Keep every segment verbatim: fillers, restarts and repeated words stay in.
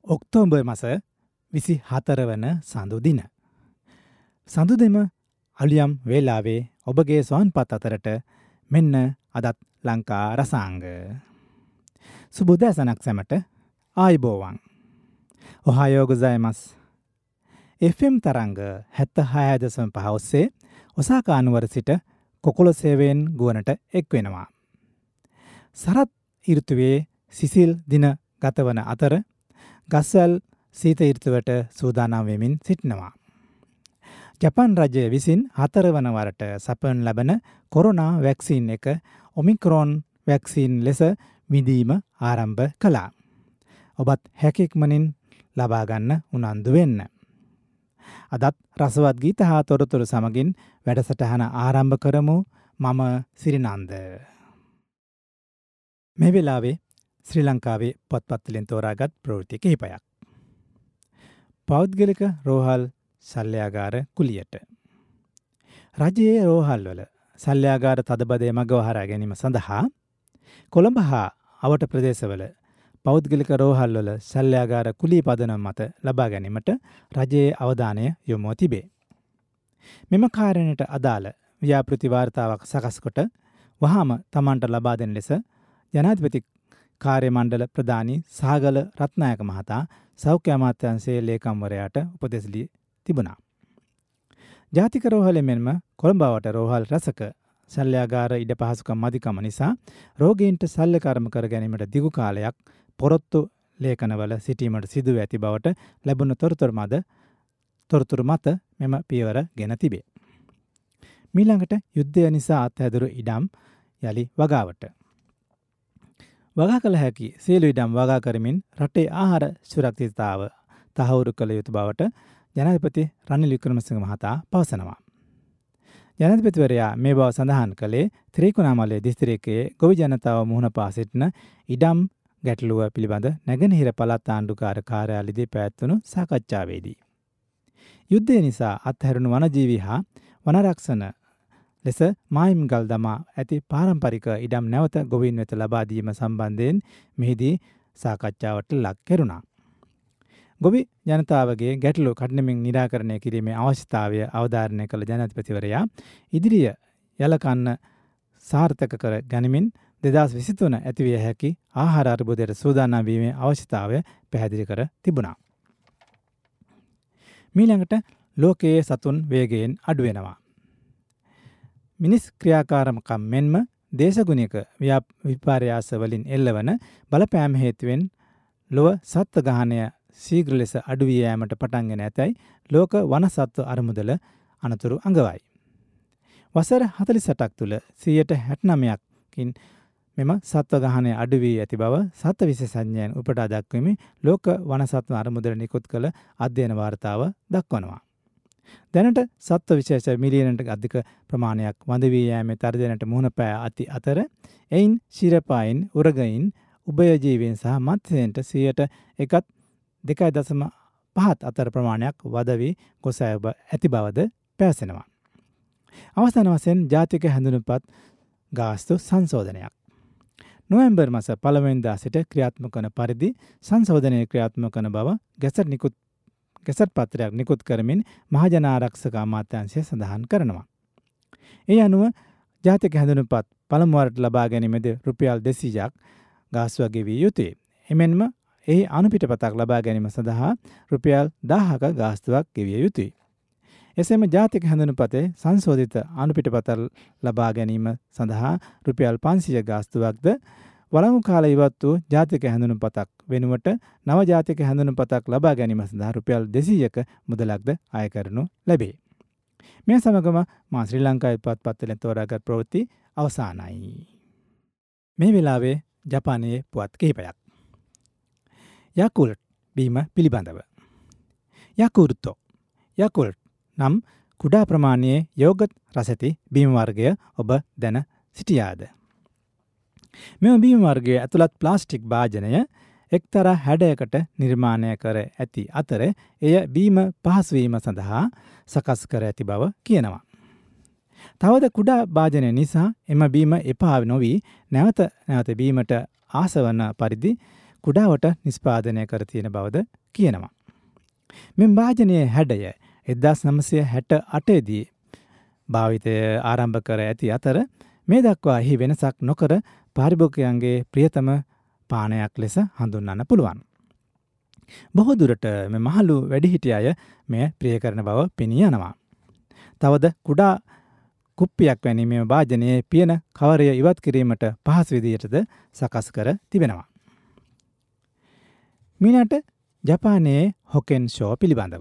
October මස විසි හතර වන සඳු දින. සඳු දෙම අලියම් වේලාවේ ඔබගේ ස්වාන්පත් අතරට මෙන්න අදත් ලංකා රසාංග. සුබෝදෑසනක් සැමට ආයිබෝවන්. ඔහායෝ ගොසයිමස්. එෆ් එම් තරංග හැත්තෑ හය දශම පහ ඔස්සේ ඔසාකා නුවර සිට කොකොලොසේවෙන් ගුවනට එක් වෙනවා. සරත් ඍතුවේ සිසිල් දින ගතවන අතර ගස්වැල් සීත ඍතුවට සූදානම් වෙමින් සිටිනවා. ජපාන් රජය විසින් හතර වන වරට සපයනු ලබන කොරෝනා වැක්සීන් එක ඔමික්‍රෝන් වැක්සීන් ලෙස විඳීම ආරම්භ කළා. ඔබත් හැකියක්මනින් ලබා ගන්න උනන්දු වෙන්න. අදත් රසවත් ගීත හා තොරතුරු සමගින් වැඩසටහන ආරම්භ කරමු. මම සිරිනන්ද. මේ වෙලාවේ ශ්‍රී ලංකාවේ පොත්පත්වලින් තෝරාගත් ප්‍රවෘත්ති කිහිපයක්. පෞද්ගලික රෝහල් සල්යාගාර කුලියට. රජයේ රෝහල්වල සල්යාගාර තදබදය මග වහරා ගැනීම සඳහා කොළඹ හා අවට ප්‍රදේශවල පෞද්ගලික රෝහල්වල සල්යාගාර කුලී පදනම් මත ලබා ගැනීමට රජයේ අවධානය යොමුව තිබේ. මෙම කාරණයට අදාළ ව්‍යාපෘති වාර්තාවක් සකස් කොට වහාම තමන්ට ලබා දෙන ලෙස ජනාධිපති කාර්ය මණ්ඩල ප්‍රධානී සාගල රත්නායක මහතා සෞඛ්‍ය අමාත්‍යාංශයේ ලේකම්වරයාට උපදෙස් දී තිබුණා. ජාතික රෝහල මෙන්ම කොළඹවට රෝහල් රැසක සල්යාගාර ඉඩ පහසුකම් මදිකම නිසා රෝගීන්ට සල්ල කර්ම කර ගැනීමට දිගු කාලයක් පොරොත්තු ලේඛනවල සිටීමට සිදුව ඇති බවට ලැබුණු තොරතුරු මත තොරතුරු මත මෙම පියවර ගෙන තිබේ. මීළඟට යුද්ධය නිසා අත්හැදුරු ඉඩම් යලි වගාවට. වගා කළ හැකි සියලු ඉඩම් වගා කරමින් රටේ ආහාර සුරක්ෂිතතාව තහවුරු කළ යුතු බවට ජනාධිපති රනිල් වික්‍රමසිංහ මහතා පවසනවා. ජනාධිපතිවරයා මේ බව සඳහන් කළේ ත්‍රිකුණාමලය දිස්ත්‍රික්කයේ ගොවි ජනතාව මුහුණ පා සිටින ඉඩම් ගැටලුව පිළිබඳ නැගෙනහිර පළාත් ආණ්ඩුකාර කාර්යාලයේදී පැවැත්වුණු සාකච්ඡාවේදී. යුද්ධය නිසා අත්හැරුණු වනජීවී හා වනරක්ෂණ ලෙස මායිම්ගල් දමා ඇති පාරම්පරික ඉඩම් නැවත ගොවීන් වෙත ලබා දීම සම්බන්ධයෙන් මෙහිදී සාකච්ඡාවට ලක් කෙරුණා. ගොවි ජනතාවගේ ගැටලු කඩිනමින් නිරාකරණය කිරීමේ අවශ්‍යතාවය අවධාරණය කළ ජනාධිපතිවරයා ඉදිරිය යලකන්න සාර්ථක කර ගනිමින් දෙදහස් විසිතුන ඇතිවිය හැකි ආහාර අර්බුදයට සූදානම් වීමේ අවශ්‍යතාවය පැහැදිලි කර තිබුණා. මීළඟට ලෝකයේ සතුන් වේගයෙන් අඩු වෙනවා. මිනිස් ක්‍රියාකාරකම් මෙන්ම දේශගුණික විපර්යාස වලින් එල්ලවන බලපෑම් හේතුවෙන් ලොව සත්ත්ව ගහනය ශීඝ්‍ර ලෙස අඩු වී යාමට පටන් ගෙන ඇතැයි ලෝක වන සත්ත්ව අරමුදල අනතුරු අඟවයි. වසර හතළිස් අටක් තුළ සියයට හැත්තෑ නවයකින් මෙම සත්ත්ව ගහනය අඩු වී ඇති බව සත්ත්ව විශේෂඥයන් උපුටා දැක්වීමේ ලෝක වන සත්ත්ව අරමුදල නිකුත් කළ අධ්‍යයන වාර්තාව දක්වනවා. දැනට සත්ත්ව විශේෂ මිලියනට අධික ප්‍රමාණයක් වඳ වී යෑමේ තර්ජනයට මුහුණ පෑ ඇති අතර එයින් ශිරපායින්, උරගයින්, උභයජීවීන් සහ මත්ස්‍යයන්ට සියයට එකත් දෙකයි දශම පහත් අතර ප්‍රමාණයක් වද වී ගොස් ඇති බවද පැවසෙනවා. අවසාන වශයෙන් ජාතික හැඳුනුම්පත් ගාස්තු සංශෝධනයක්. නොවැම්බර් මාස පළමුවෙනිදා සිට ක්‍රියාත්මක වන පරිදි සංශෝධනය ක්‍රියාත්මක වන බව ගැසට් නිකුත් ගැසට් පත්‍රයක් නිකුත් කරමින් මහජන ආරක්ෂක අමාත්‍යාංශය සඳහන් කරනවා. ඒ අනුව ජාතික හැඳුනුම්පත් පළමු වරට ලබා ගැනීමේදී රුපියල් දෙසීයක් ගාස්තුවක් ගෙවිය යුතුය. එමෙන්ම එහි අනුපිටපතක් ලබා ගැනීම සඳහා රුපියල් දහයක ගාස්තුවක් ගෙවිය යුතුය. එසේම ජාතික හැඳුනුම්පතේ සංශෝධිත අනුපිටපත ලබා ගැනීම සඳහා රුපියල් පන්සිය ගාස්තුවක්ද වළංගු කාලය ඉවත් වූ ජාතික හැඳුනුම්පතක් වෙනුවට නව ජාතික හැඳුනුම්පතක් ලබා ගැනීම සඳහා රුපියල් දෙසීයක මුදලක්ද අය කරනු ලැබේ. මේ සමගම මා ශ්‍රී ලංකාවේ පුවත්පත්වලින් තෝරාගත් ප්‍රවෘත්ති අවසానයි. මේ වෙලාවේ ජපානයේ පුවත් කිහිපයක්. යාකුල්ට් බීම පිළිබඳව. යාකුර්තෝ යාකුල්ට් නම් කුඩා ප්‍රමාණයේ යෝගට් රසැති බීම වර්ගය ඔබ දැන සිටියාද? මෙම බීම වර්ගයේ ඇතුළත් ප්ලාස්ටික් භාජනය එක්තරා හැඩයකට නිර්මාණය කර ඇති අතර එය බීම පහසුවීම සඳහා සකස් කර ඇති බව කියනවා. තවද කුඩා භාජනය නිසා එම බීම එපා නොවී නැවත නැවත බීමට ආසවන පරිදි කුඩාවට නිෂ්පාදනය කර තියෙන බවද කියනවා. මෙම වාජනයේ හැඩය එක්දාස් නවසිය හැට අටේ දී භාවිතය ආරම්භ කර ඇති අතර මේ දක්වා එහි වෙනසක් නොකර පාරිභෝගිකයන්ගේ ප්‍රියතම පානයක් ලෙස හඳුන්වන්න පුළුවන්. බොහෝ දුරට මේ මහලු වැඩිහිටි අය මෙය ප්‍රිය කරන බව පෙනී යනවා. තවද කුඩා කුප්පියක් වැනි මේ වාජනයේ පියන කවරය ඉවත් කිරීමට පහසු විදියටද සකස් කර තිබෙනවා. මීළඟට ජපානයේ හොකෙන් ෂෝ පිළිබඳව.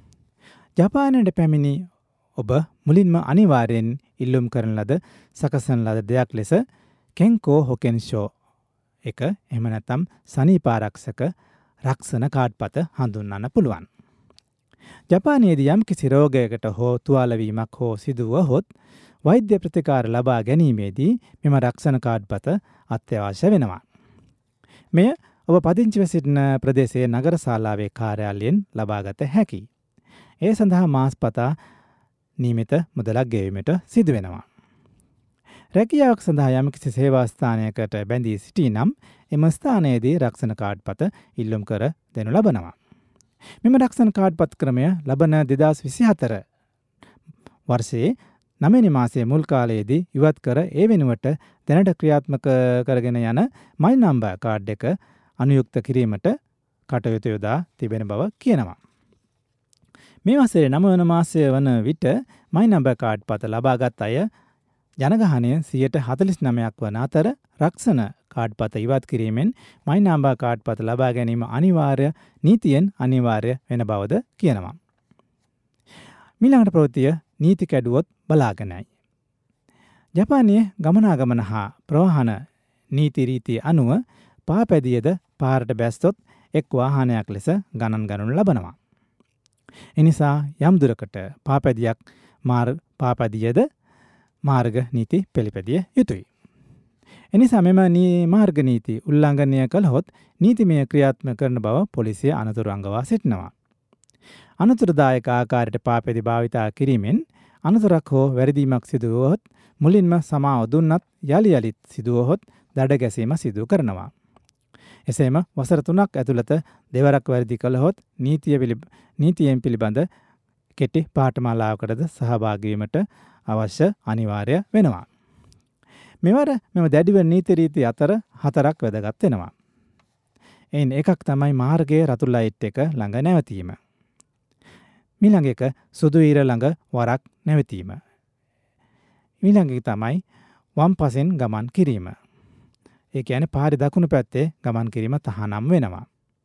ජපානයට පැමිණි ඔබ මුලින්ම අනිවාර්යෙන් ඉල්ලුම් කරන ලද සකසන ලද දෙයක් ලෙස කෙන්කෝ හොකෙන් ෂෝ එක එහෙම නැත්නම් සනීපාරක්ෂක රක්ෂණ කාඩ්පත හඳුන්වන්න පුළුවන්. ජපානයේදී යම් කිසි රෝගයකට හෝ තුවාල වීමක් හෝ සිදුවහොත් වෛද්‍ය ප්‍රතිකාර ලබා ගැනීමේදී මෙම රක්ෂණ කාඩ්පත අත්‍යවශ්‍ය වෙනවා. මෙය ඔබ පදිංචිව සිටින ප්‍රදේශයේ නගර ශාලාවේ කාර්යාලයෙන් ලබාගත හැකියි. ඒ සඳහා මාස්පතා නියමිත මුදලක් ගෙවීමට සිදු වෙනවා. රැකියාවක් සඳහා යම්කිසි සේවා ස්ථානයකට බැඳී සිටී නම් එම ස්ථානයේදී රක්ෂණ කාඩ්පත ඉල්ලුම් කර දෙනු ලබනවා. මෙම රක්ෂණ කාඩ්පත් ක්‍රමය ලබන දෙදාස් විසිහතර වර්ෂයේ නවවෙනි මාසයේ මුල් කාලයේදී ඉවත් කර ඒ වෙනුවට දැනට ක්‍රියාත්මක කරගෙන යන මයි නම්බර් කාඩ් එක අනුයුක්ත කිරීමට කටයුතු යොදා තිබෙන බව කියනවා. මේ වසරේ නවවන මාසය වන විට මයි නම්බර් කාඩ්පත ලබාගත් අය ජනගහනය සියයට හතළිස් නවයක් වන අතර රක්ෂණ කාඩ්පත ඉවත් කිරීමෙන් මයි නම්බර් කාඩ්පත ලබා ගැනීම අනිවාර්ය නීතියෙන් අනිවාර්ය වෙන බවද කියනවා. මීළඟට ප්‍රවෘත්තිය නීති කැඩුවොත් බලාගෙනයි. ජපානයේ ගමනාගමන හා ප්‍රවාහන නීති රීති අනුව පාපැදියද පාරට බැස්සොත් එක් වාහනයක් ලෙස ගණන් ගනු ලබනවා. එනිසා යම් දුරකට පාපැදියක් මාර් පාපැදියද මාර්ග නීති පිළිපැදිය යුතුයි. එනිසා මෙම මාර්ග නීති උල්ලංඝනය කළහොත් නීතිමය ක්‍රියාත්මක කරන බව පොලිසිය අනතුරු අඟවා සිටිනවා. අනතුරුදායක ආකාරයට පාපැදි භාවිතා කිරීමෙන් අනතුරක් හෝ වැරදීමක් සිදු වුවහොත් මුලින්ම සමාව දුන්නත් යලි යලිත් සිදුවහොත් දඩ ගැසීම සිදු කරනවා. එසේම වසර තුනක් ඇතුළත දෙවරක් වැරදි කළහොත් නීතිය පිළි නීතියෙන් පිළිබඳ කෙටි පාඨමාලාවකටද සහභාගී වීමට අවශ්‍ය අනිවාර්ය වෙනවා. මෙවර මෙම දැඩිව නීති රීති අතර හතරක් වැදගත් වෙනවා. එයින් එකක් තමයි මාර්ගයේ රතු ලයිට් එක ළඟ නැවතීම. ඊළඟ එක සුදු ඊර ළඟ වරක් නැවතීම. ඊළඟ එක තමයි වම් පසෙන් ගමන් කිරීම. ඒ කියන්නේ පාරේ දකුණු පැත්තේ ගමන් කිරීම තහනම් වෙනවා.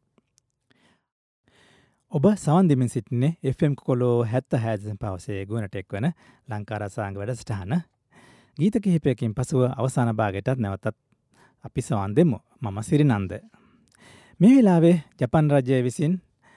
ඔබ සවන් දෙමින් සිටින්නේ එෆ් එම් කොලෝ හැත්තෑ දශමික හය පවසේ ගුණට එක්වන ලංකා රසායනික වැඩසටහන. ගීත කිහිපයකින් පසුව අවසාන භාගයටත් නැවතත් අපි සවන් දෙමු. මම සිරිනන්ද. මේ වෙලාවේ ජපාන් රජය විසින්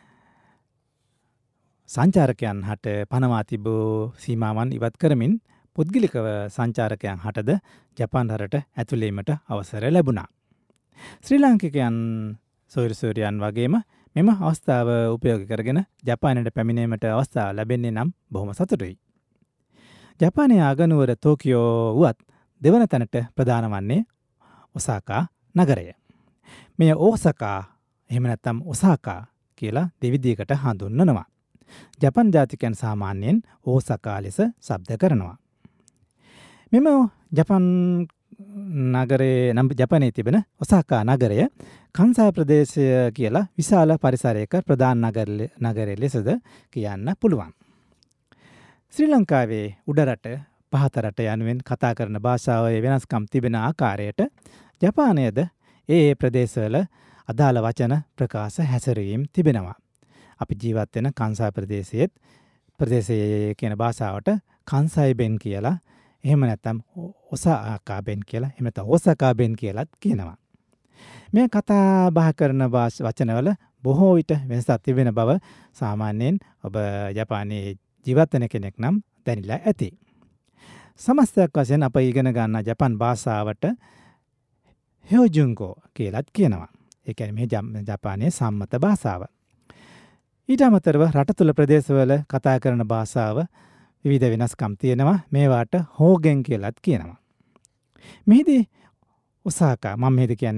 සංචාරකයන් හට පනවා තිබූ සීමාවන් ඉවත් කරමින් පුද්ගලිකව සංචාරකයන් හටද ජපාන් රටට ඇතුළීමට අවසර ලැබුණා. ශ්‍රී ලාංකිකයන් සොයුරුසොයුරියන් වගේම මෙම අවස්ථාව උපයෝගී කරගෙන ජපානයට පැමිණීමට අවස්ථාව ලැබෙන්නේ නම් බොහොම සතුටුයි. ජපානයේ අගනුවර ටෝකියෝ වුවත් දෙවන තැනට ප්‍රධාන වන්නේ ඔසාකා නගරය. මෙය ඕසකා එහෙම නැත්නම් ඔසාකා කියලා දෙවිදියකට හඳුන්වනවා. ජපන් ජාතිකයන් සාමාන්‍යයෙන් ඕසකා ලෙස ශබ්ද කරනවා. මෙම ජපන් නගරයේ නම් ජපානයේ තිබෙන ඔසාකා නගරය කන්සායි ප්‍රදේශය කියලා විශාල පරිසරයක ප්‍රධාන නගරය ලෙසද කියන්න පුළුවන්. ශ්‍රී ලංකාවේ උඩරට පහත රට යනුවෙන් කතා කරන භාෂාවේ වෙනස්කම් තිබෙන ආකාරයට ජපානයේද ඒ ඒ ප්‍රදේශවල අදාළ වචන ප්‍රකාශ හැසිරීම් තිබෙනවා. අපි ජීවත් වෙන කන්සායි ප්‍රදේශයේත් ප්‍රදේශයේ කියන භාෂාවට කන්සායි බෙන් කියලා එහෙම නැත්නම් ඔසාකා බෙන් කියලා එහෙම නැත්නම් ඔසාකා බෙන් කියලාත් කියනවා. මේ කතා බහ කරන වචනවල බොහෝ විට වෙනසක් තිබෙන බව සාමාන්‍යයෙන් ඔබ ජපානයේ ජීවත් වෙන කෙනෙක් නම් දැනিলা ඇති. සමස්තයක් වශයෙන් අප ඉගෙන ගන්න ජපන් භාෂාවට හ්යෝජුන්ගෝ කියලාත් කියනවා. ඒ කියන්නේ මේ ජපානයේ සම්මත භාෂාව. ඊට අමතරව රට තුළ ප්‍රදේශවල කතා කරන භාෂාව විවිධ වෙනස්කම් තියෙනවා. මේවාට හෝගෙන් කියලාත් කියනවා. මෙහිදී ඔසාකා මම මෙහෙද කියන්නේ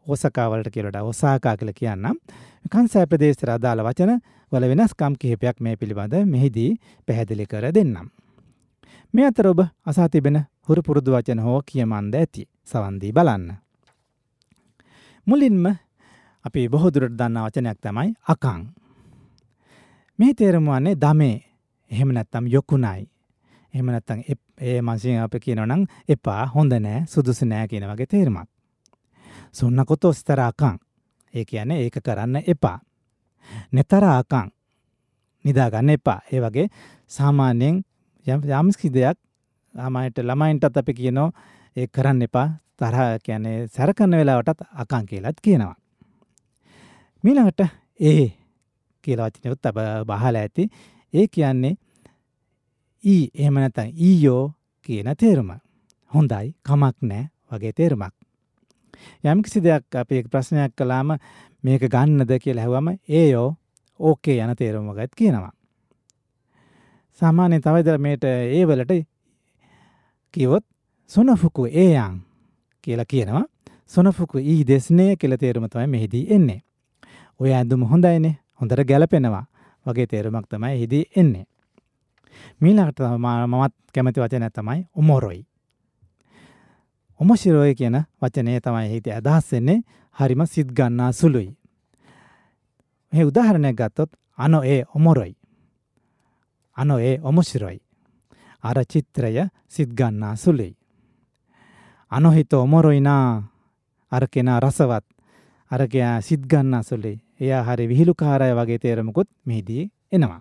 ඕසකා වලට කියලා ඔසාකා කියලා කියන්නම්. කන්සයි ප්‍රදේශයට අදාළ වචන වල වෙනස්කම් කිහිපයක් මේ පිළිබඳ මෙහිදී පැහැදිලි කර දෙන්නම්. මේ අතර ඔබ අසා තිබෙන හුරු පුරුදු වචන හෝ කියමන්ද ඇති. සවන් දී බලන්න. මුලින්ම අපි බොහෝ දුරට දන්නා වචනයක් තමයි අකං. මේ තේරුම වන්නේ දමේ. එහෙම නැත්නම් යොකුණයි. එහෙම නැත්නම් ඒ මාසින් අපි කියනවා නම් එපා, හොඳ නෑ, සුදුසු නෑ කියන වගේ තේරුමක්. සොන්නකොතෝ ස්තර අකං. ඒ කියන්නේ ඒක කරන්න එපා. නතර අකං. නිදා ගන්න එපා. ඒ වගේ සාමාන්‍යයෙන් යම් යම්කිසි දෙයක් ළමයින්ට ළමයින්ටත් අපි කියනවා ඒක කරන්න එපා. තරහ කියන්නේ සැර කරන වෙලාවටත් අකං කියලාත් කියනවා. ඊළඟට ඒ කියලා වචනයත් අප බහලා ඇති. ඒ කියන්නේ ඊ එහෙම නැත්නම් ඊයෝ කියන තේරුම. හොඳයි, කමක් නැහැ වගේ තේරුමක්. යම් කිසි දෙයක් අපි ප්‍රශ්නයක් කළාම මේක ගන්නද කියලා අහුවම ඒයෝ ඕකේ යන තේරුම වගේත් කියනවා. සාමාන්‍යයෙන් තව ඉතින් මේට ඒ වලට කිව්වොත් සොනෆුකු ඒයන් කියලා කියනවා. සොනෆුකු ඊ දෙස්නේ කියලා තේරුම තමයි මෙහිදී එන්නේ. ඔය ඇඳුම හොඳයිනේ, හොඳට ගැලපෙනවා වගේ තේරුමක් තමයි එහිදී එන්නේ. මීළඟට මමත් කැමති වචනය තමයි ඔමොරොයි. ඔමොශිරොයි කියන වචනේ තමයි එහිදී අදහස් වෙන්නේ හරිම සිත් ගන්නා සුළුයි. මේ උදාහරණයක් ගත්තොත් අනෝ ඒ ඔමොරොයි. අනෝ ඒ ඔමොශිරොයි. අර චිත්‍රය සිත් ගන්නා සුළුයි. අනෝ හිත ඔමොරොයි නා අර කෙනා රසවත්. අර කෙනා සිත් ගන්නා සුළුයි. එයා හරි විහිළුකාරය වගේ තේරුමකුත් මෙහිදී එනවා.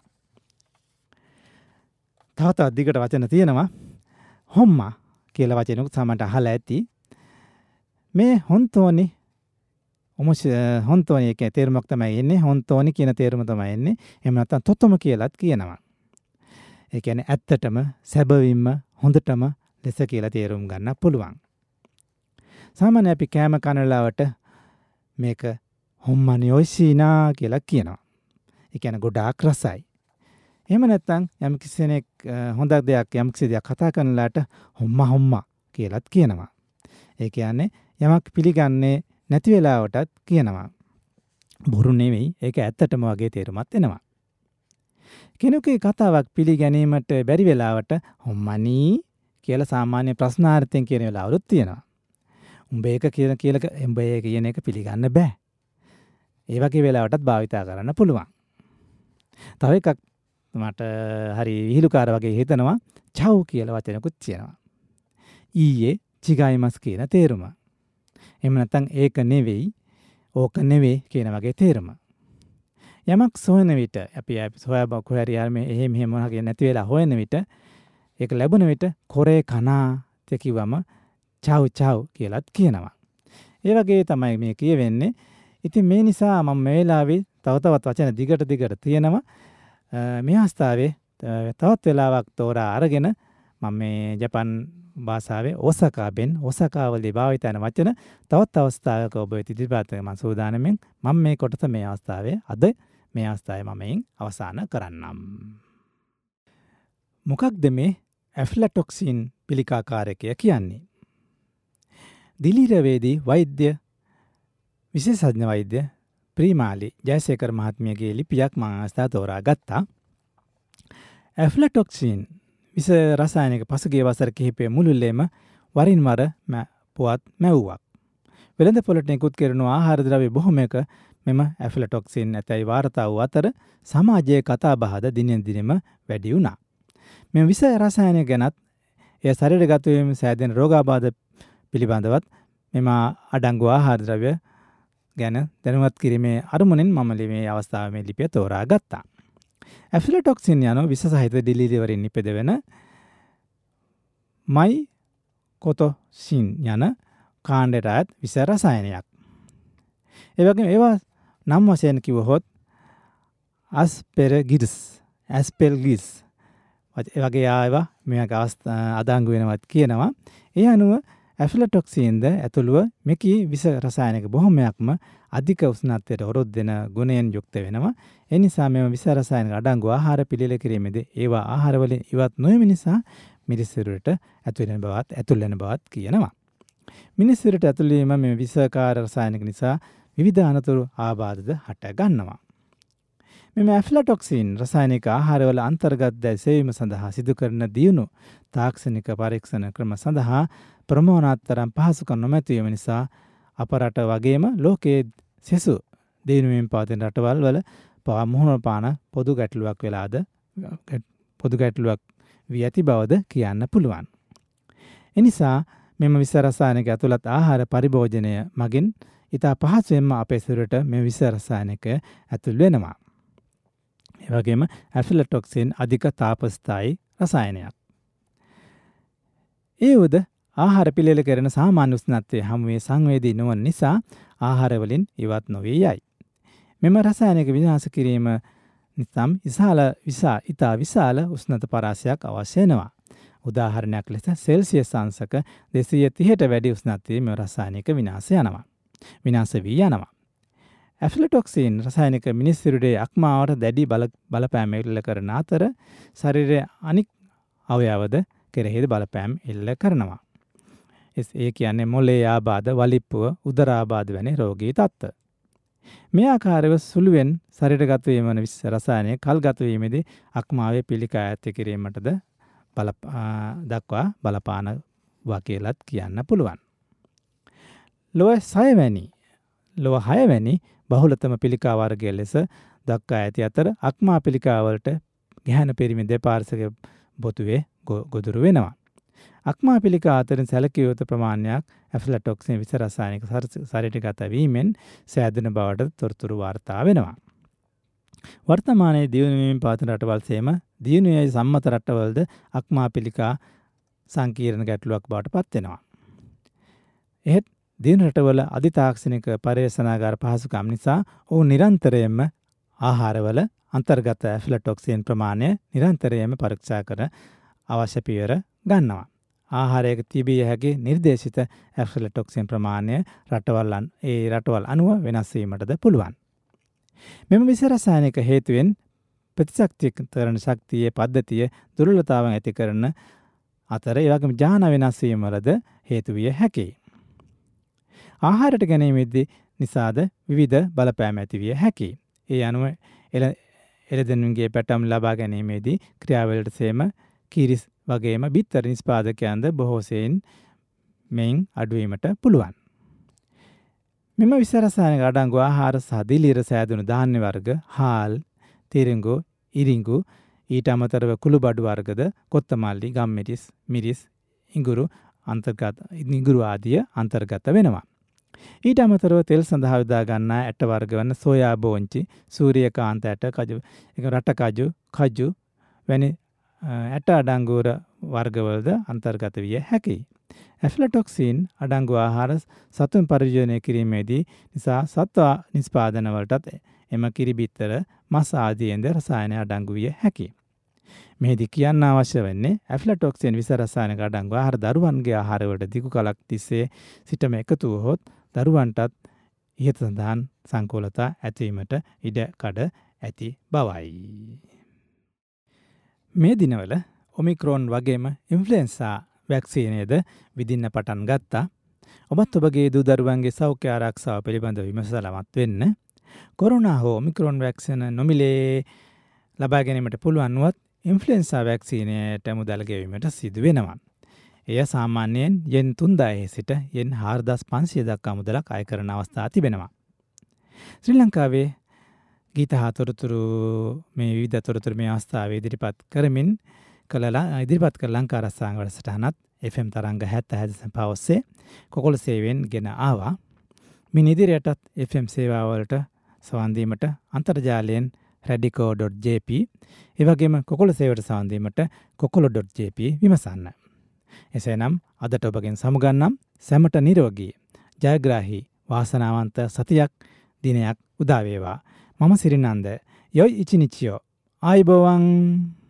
තවත් අධිකට වචන තියෙනවා. හොම්මා කියලා වචනකුත් සමහරට අහලා ඇති. මේ හොන්තෝනි ඔමොස් හොන්තෝනි කියන තේරුමක් තමයි එන්නේ. හොන්තෝනි කියන තේරුම තමයි එන්නේ. එහෙම නැත්නම් තොතම කියලාත් කියනවා. ඒ කියන්නේ ඇත්තටම සැබවින්ම හොඳටම ලෙස කියලා තේරුම් ගන්න පුළුවන්. සාමාන්‍ය අපි කෑම කන වෙලාවට මේක හොම්මනි ඔයිසීනා කියලා කියනවා. ඒ කියන්නේ ගොඩාක් රසයි. එහෙම නැත්නම් යම් කිසි කෙනෙක් හොඳ දෙයක් යම් කිසි දෙයක් කතා කරනලාට හොම්මා හොම්මා කියලාත් කියනවා. ඒ කියන්නේ යමක් පිළිගන්නේ නැති වෙලාවටත් කියනවා. බොරු නෙවෙයි, ඒක ඇත්තටම වගේ තේරුමක් එනවා. කෙනෙකුගේ කතාවක් පිළිගැනීමට බැරි වෙලාවට හොම්මනි කියලා සාමාන්‍ය ප්‍රශ්නාර්ථයෙන් කියන වෙලාවලුත් තියෙනවා. උඹ ඒක කියන කියලා උඹ ඒක කියන එක පිළිගන්න බෑ. ඒ වගේ වෙලාවටත් භාවිතා කරන්න පුළුවන්. තව එකක් මට හරි විහිළුකාර වගේ හිතනවා චව් කියලා වචනකුත් තියෙනවා. ඊයේ චිගයිමස් කියන තේරුම. එහෙම නැත්නම් ඒක නෙවෙයි, ඕක නෙවෙයි කියන වගේ තේරුම. යමක් සොයන විට අපි සොයා බොහරි යාමේ එහෙම එහෙම මොනවාගේ නැති වෙලා හොයන විට ඒක ලැබුණ විට කොරේ කනා කිව්වම චව් චව් කියලාත් කියනවා. ඒ වගේ තමයි මේ කියවෙන්නේ. ඉතින් මේ නිසා මම මේ වෙලාවේ තව තවත් වචන දිගට දිගට තියෙනවා. මේ අවස්ථාවේ තවත් වෙලාවක් තෝරා අරගෙන මම මේ ජපන් භාෂාවේ ඔසකා බෙන් ඔසකා වලදී භාවිත කරන වචන තවත් අවස්ථාවක ඔබ වෙත ඉදිරිපත් කරන මම සූදානම්ෙන් මම මේ කොටස මේ අවස්ථාවේ අද මේ අවස්ථාවේ මම එයින් අවසන් කරන්නම්. මොකක්ද මේ ඇෆ්ලටොක්සින් පිළිකාකාරකය කියන්නේ? දිලිරවේදී වෛද්‍ය විශේෂඥ වෛද්‍ය ප්‍රීමාලි ජයසේකර මහත්මියගේ ලිපියක් මම අවස්ථාව තෝරා ගත්තා. ඇෆ්ලටොක්සින් විස රසායනික පසුගිය වසර කිහිපය මුළුල්ලේම වරින් වර පුවත් මැව්වක්. වෙළඳ පොළට නිකුත් කරන ආහාර ද්‍රව්‍ය බොහොමයක මෙම ඇෆ්ලටොක්සින් නැතයි වාර්තා වූ අතර සමාජයේ කතාබහද දිනෙන් දිනම වැඩි වුණා. මෙම විස රසායනික ගැනත් එය ශරීරගත වීම සෑදෙන රෝගාබාධ පිළිබඳවත් මෙම අඩංගු ආහාර ද්‍රව්‍ය ගැන දැනුවත් කිරීමේ අරමුණෙන් මම මේ අවස්ථාවේ මේ ලිපිය තෝරා ගත්තා. ඇෆ්ලටොක්සින් යන විස සහිත දිලිරි වලින් නිපදවෙන මයිකොතොසින් යන කාණ්ඩයට අයත් විස රසායනයක්. ඒ වගේම ඒවා නම් වශයෙන් කිව්වොත් ඇස්පෙරගිස්, ඇස්පෙල්ගිස් ඒ වගේ ආවා මේක අදාංගු වෙනවත් කියනවා. ඒ අනුව ඇෆ්ලටොක්සින්ද ඇතුළුව මෙකී විස රසායනික බොහොමයක්ම අධික උෂ්ණත්වයට හොරොත් දෙන ගුණයෙන් යුක්ත වෙනවා. ඒ නිසා මෙම විස රසායනික අඩංගු ආහාර පිළියෙල කිරීමේදී ඒවා ආහාර වලින් ඉවත් නොවීම නිසා මිරිස් සිරුරට ඇතුල් වෙන බවත් ඇතුල් වෙන බවත් කියනවා. මිනිස්සුන්ට ඇතුළේම මේ විෂකාර රසායනික නිසා විවිධ අනතුරු ආබාධද හට ගන්නවා. මෙම ඇෆ්ලටොක්සින් රසායනික ආහාරවල අන්තර්ගත දැයි සෙවීම සඳහා සිදු කරන දියුණු තාක්ෂණික පරීක්ෂණ ක්‍රම සඳහා ප්‍රමාණාතරම් පහසුකම් නොමැතිවීම නිසා අප රට වගේම ලෝකයේ සෙසු දියුණුවෙන් පවතින රටවල් වල පවා මුහුණ පාන පොදු ගැටලුවක් වෙලාද පොදු ගැටලුවක් වී ඇති බවද කියන්න පුළුවන්. එනිසා මෙම විස රසායනික ඇතුළත් ආහාර පරිභෝජනය මගින් ඉතා පහසුවෙන්ම අපේ සිරුරට මේ විස රසායනික ඇතුල් වෙනවා. ඒ වගේම ඇෆ්ලටොක්සින් අධික තාපස්ථායි රසායනයක්. ඒ උද ආහාර පිළියෙල කරන සාමාන්‍ය උෂ්ණත්වයේ හමුවේ සංවේදී නොවන නිසා ආහාර වලින් ඉවත් නොවී යයි. මෙම රසායනික විනාශ කිරීම නිසාම විශාල විසා ඉතා විශාල උෂ්ණත පරාසයක් අවශ්‍ය වෙනවා. උදාහරණයක් ලෙස සෙල්සියස් අංශක දෙසිය තිහට වැඩි උෂ්ණත්වයේ මෙම රසායනික විනාශ යනවා. විනාශ වී යනවා. ඇෆ්ලටොක්සින් රසායනික මිනිස් සිරුරේ අක්මාවට දැඩි බල බලපෑම එල්ල කරන අතර ශරීරයේ අනික් අවයවද කෙරෙහිද බලපෑම් එල්ල කරනවා. ඒ කියන්නේ මොළේ ආබාධ, වලිප්පුව, උදර ආබාධ වැනි රෝගී තත්ත්ව. මේ ආකාරව සුළුවෙන් ශරීරගත වීම වන විස රසායනික කල්ගත වීමේදී අක්මාවේ පිළිකා ඇති කිරීමටද බල දක්වා බලපාන වා කියලාත් කියන්න පුළුවන්. ලොව හය වැනි ලොව හය වැනි බහුලතම පිළිකා වර්ගය ලෙස දක්වා ඇති අතර අක්මා පිළිකා වලට ගැහැණු පිරිමි දෙපාර්ශ්වක බොතුවේ ගොදුරු වෙනවා. අක්මා පිළිකා අතරින් සැලකිය යුතු ප්‍රමාණයක් ඇෆ්ලටොක්සින් විස රසායනික ශරීරගත වීමෙන් සෑදෙන බවට තොරතුරු වාර්තා වෙනවා. වර්තමානයේ දියුණු වීමෙන් පවතින රටවල් සේම දියුණුවේ සම්මත රටවල්ද අක්මා පිළිකා සංකීර්ණ ගැටලුවක් බවට පත් වෙනවා. එහෙත් දියුණු රටවල අධිතාක්ෂණික පර්යේෂණාගාර පහසුකම් නිසා ඔවුන් නිරන්තරයෙන්ම ආහාරවල අන්තර්ගත ඇෆ්ලටොක්සින් ප්‍රමාණය නිරන්තරයෙන්ම පරීක්ෂා කර අවශ්‍ය පියවර ගන්නවා. ආහාරයක තිබිය හැකි නිර්දේශිත ඇෆ්ලටොක්සින් ප්‍රමාණය රටවල් ඒ රටවල් අනුව වෙනස් වීමටද පුළුවන්. මෙම විස රසායනික හේතුවෙන් ප්‍රතිශක්තිකරණ ශක්තියේ පද්ධතිය දුර්වලතාවන් ඇති කරන අතර ඒ වගේම ජාන වෙනස් වීම වලද හේතු විය හැකියි. ආහාරයට ගැනීමේදී නිසාද විවිධ බලපෑම් ඇති විය හැකියි. ඒ අනුව එළදෙනුන්ගේ පැටම් ලබා ගැනීමේදී ක්‍රියාවලට සේම කිරිස් වගේම බිත්තර නිෂ්පාදකයන්ද බොහෝ සෙයින් මෙයින් අඩුවීමට පුළුවන්. මෙම විස රසායනික අඩංගු ආහාර සහ දිලිර සෑදුණු ධාන්‍ය වර්ග, හාල්, තිරිඟු, ඉරිඟු, ඊට අමතරව කුළුබඩු වර්ගද, කොත්තමල්ලි, ගම්මිරිස්, මිරිස්, ඉඟුරු අන්තර්ගත ඉඟුරු ආදිය අන්තර්ගත වෙනවා. ඊට අමතරව තෙල් සඳහා යොදා ගන්නා ඇට වර්ග වන සෝයා බෝංචි, සූර්යකාන්ත ඇට, කජු, ඒක රට කජු, කජු වැනි ඇට අඩංගු වර්ගවලද අන්තර්ගත විය හැකියි. ඇෆ්ලටොක්සින් අඩංගු ආහාර සතුන් පරිභෝජනය කිරීමේදී නිසා සත්ව නිෂ්පාදන වලටත් එම කිරිබිත්තර, මස් ආදීන්ද රසායන අඩංගු විය හැකියි. මෙහිදී කියන්න අවශ්‍ය වෙන්නේ ඇෆ්ලටොක්සින් විස රසායනික අඩංගු ආහාර දරුවන්ගේ ආහාරවලට දිගු කලක් තිස්සේ සිටම එකතු වුවහොත් දරුවන්ටත් ඉහත සඳහන් සංකූලතා ඇතිවීමට ඉඩ කඩ ඇති බවයි. මේ දිනවල ඔමික්‍රෝන් වගේම ඉන්ෆ්ලුවෙන්සා වැක්සීනයද විදින්න පටන් ගත්තා. ඔබත් ඔබගේ දූ දරුවන්ගේ සෞඛ්‍ය ආරක්ෂාව පිළිබඳව විමසලමත් වෙන්න. කොරෝනා හෝ ඔමික්‍රෝන් වැක්සින නොමිලේ ලබා ගැනීමට පුළුවන් වුවත් ඉන්ෆ්ලුවෙන්සා වැක්සීනයට මුදල් ගෙවීමට සිදු වෙනවා. එය සාමාන්‍යයෙන් යෙන් තුන්දායේ සිට යෙන් හාරදාස් පන්සිය දක්වා මුදලක් අය කරන අවස්ථා තිබෙනවා. ශ්‍රී ලංකාවේ ගීත හා තොරතුරු මේ විවිධ තොරතුරු මේ අවස්ථාවේ ඉදිරිපත් කරමින් කළලා ඉදිරිපත් කළ ලංකා රසායන වැඩසටහනත් එෆ් එම් තරංග හැත්තෑ දශම පහ ඔස්සේ කොකොළ සේවයෙන් ගෙන ආවා. මින් ඉදිරියටත් එෆ් එම් සේවාවලට සවන් දීමට අන්තර්ජාලයෙන් රැඩිකෝ ඩොට් ජේ පී ඒ වගේම කොකොළ සේවයට සවන් දීමට කොකොළ ඩොට් ජේ පී විමසන්න. එසේනම් අදට ඔබගෙන් සමුගන්නම්. සැමට නිරෝගී ජයග්‍රාහී වාසනාවන්ත සතියක් දිනයක් උදා වේවා. මම සිරිනන්ද යොයි ඉචිනිචියෝ ආයිබෝවන්.